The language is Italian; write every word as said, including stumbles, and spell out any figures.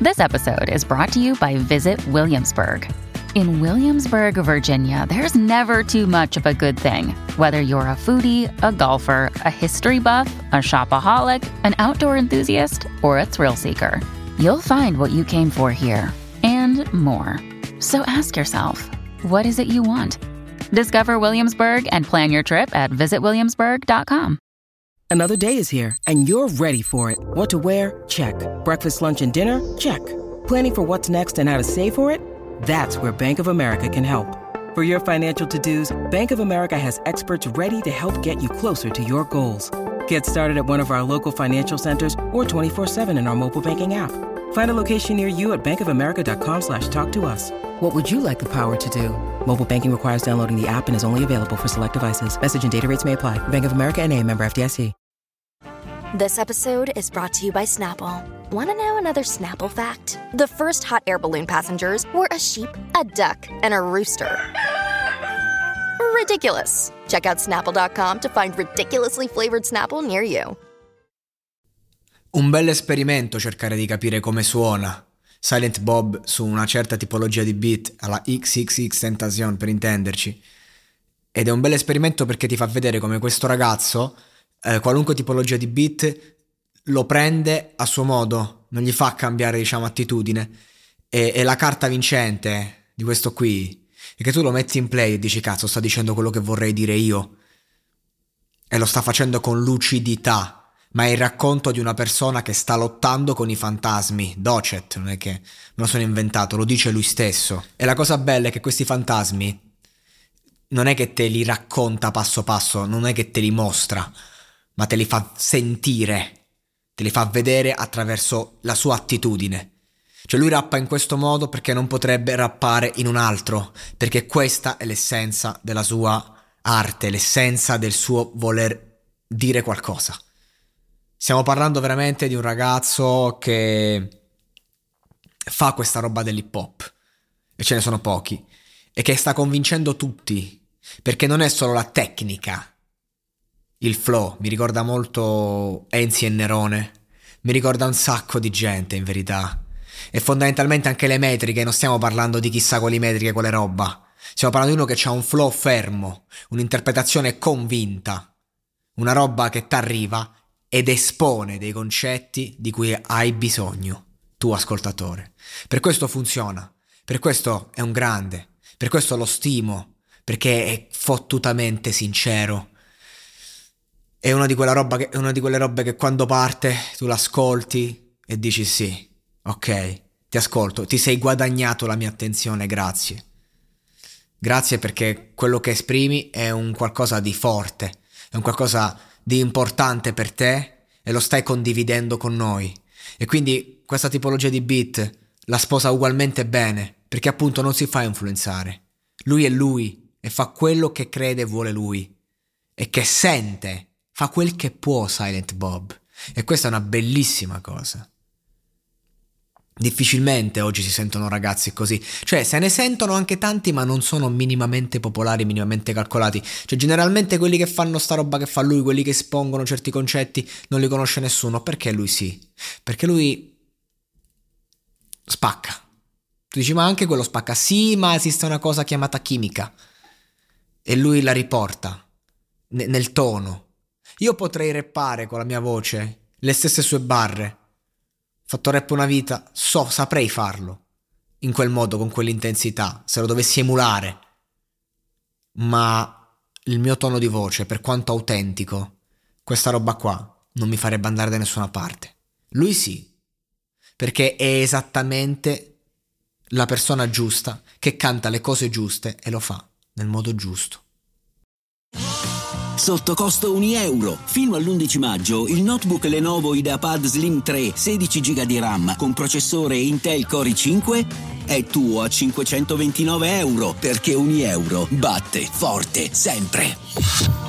This episode is brought to you by Visit Williamsburg. In Williamsburg, Virginia, there's never too much of a good thing. Whether you're a foodie, a golfer, a history buff, a shopaholic, an outdoor enthusiast, or a thrill seeker, you'll find what you came for here and more. So ask yourself, what is it you want? Discover Williamsburg and plan your trip at visit williamsburg dot com. Another day is here, and you're ready for it. What to wear? Check. Breakfast, lunch, and dinner? Check. Planning for what's next and how to save for it? That's where Bank of America can help. For your financial to-dos, Bank of America has experts ready to help get you closer to your goals. Get started at one of our local financial centers or twenty-four seven in our mobile banking app. Find a location near you at bankofamerica.com slash talk to us. What would you like the power to do? Mobile banking requires downloading the app and is only available for select devices. Message and data rates may apply. Bank of America N A, member F D I C. This episode is brought to you by Snapple. Want to know another Snapple fact? The first hot air balloon passengers were a sheep, a duck, and a rooster. Ridiculous. Check out snapple dot com to find ridiculously flavored Snapple near you. Un bel esperimento cercare di capire come suona Silent Bob su una certa tipologia di beat, alla X X X Tentacion per intenderci. Ed è un bel esperimento perché ti fa vedere come questo ragazzo, eh, qualunque tipologia di beat, lo prende a suo modo, non gli fa cambiare, diciamo, attitudine. E, e la carta vincente di questo qui è che tu lo metti in play e dici cazzo, sta dicendo quello che vorrei dire io, e lo sta facendo con lucidità. Ma è il racconto di una persona che sta lottando con i fantasmi. Docet, non è che me lo sono inventato, lo dice lui stesso. E la cosa bella è che questi fantasmi non è che te li racconta passo passo, non è che te li mostra, ma te li fa sentire, te li fa vedere attraverso la sua attitudine. Cioè lui rappa in questo modo perché non potrebbe rappare in un altro, perché questa è l'essenza della sua arte, l'essenza del suo voler dire qualcosa. Stiamo parlando veramente di un ragazzo che fa questa roba dell'hip hop, e ce ne sono pochi, e che sta convincendo tutti, perché non è solo la tecnica, il flow, mi ricorda molto Enzi e Nerone, mi ricorda un sacco di gente in verità, e fondamentalmente anche le metriche, non stiamo parlando di chissà quali metriche, quale roba, stiamo parlando di uno che ha un flow fermo, un'interpretazione convinta, una roba che t'arriva ed espone dei concetti di cui hai bisogno, tu ascoltatore. Per questo funziona, per questo è un grande, per questo lo stimo, perché è fottutamente sincero. È una di quella roba che, è una di quelle robe che quando parte tu l'ascolti e dici sì, ok, ti ascolto, ti sei guadagnato la mia attenzione, grazie. Grazie perché quello che esprimi è un qualcosa di forte, è un qualcosa di importante per te e lo stai condividendo con noi, e quindi questa tipologia di beat la sposa ugualmente bene, perché appunto non si fa influenzare, lui è lui e fa quello che crede e vuole lui e che sente, fa quel che può Silent Bob, e questa è una bellissima cosa. Difficilmente oggi si sentono ragazzi così, cioè se ne sentono anche tanti ma non sono minimamente popolari, minimamente calcolati, cioè generalmente quelli che fanno sta roba che fa lui, quelli che espongono certi concetti non li conosce nessuno, perché lui sì, perché lui spacca. Tu dici ma anche quello spacca, sì, ma esiste una cosa chiamata chimica e lui la riporta n- nel tono. Io potrei rappare con la mia voce le stesse sue barre, fatto rap una vita, so, saprei farlo in quel modo, con quell'intensità, se lo dovessi emulare, ma il mio tono di voce, per quanto autentico, questa roba qua non mi farebbe andare da nessuna parte. Lui sì, perché è esattamente la persona giusta che canta le cose giuste e lo fa nel modo giusto. Sotto costo un euro. Fino all'undici maggio il notebook Lenovo IdeaPad Slim tre sedici giga di RAM con processore Intel Core i cinque è tuo a cinquecentoventinove euro, perché un euro batte forte sempre.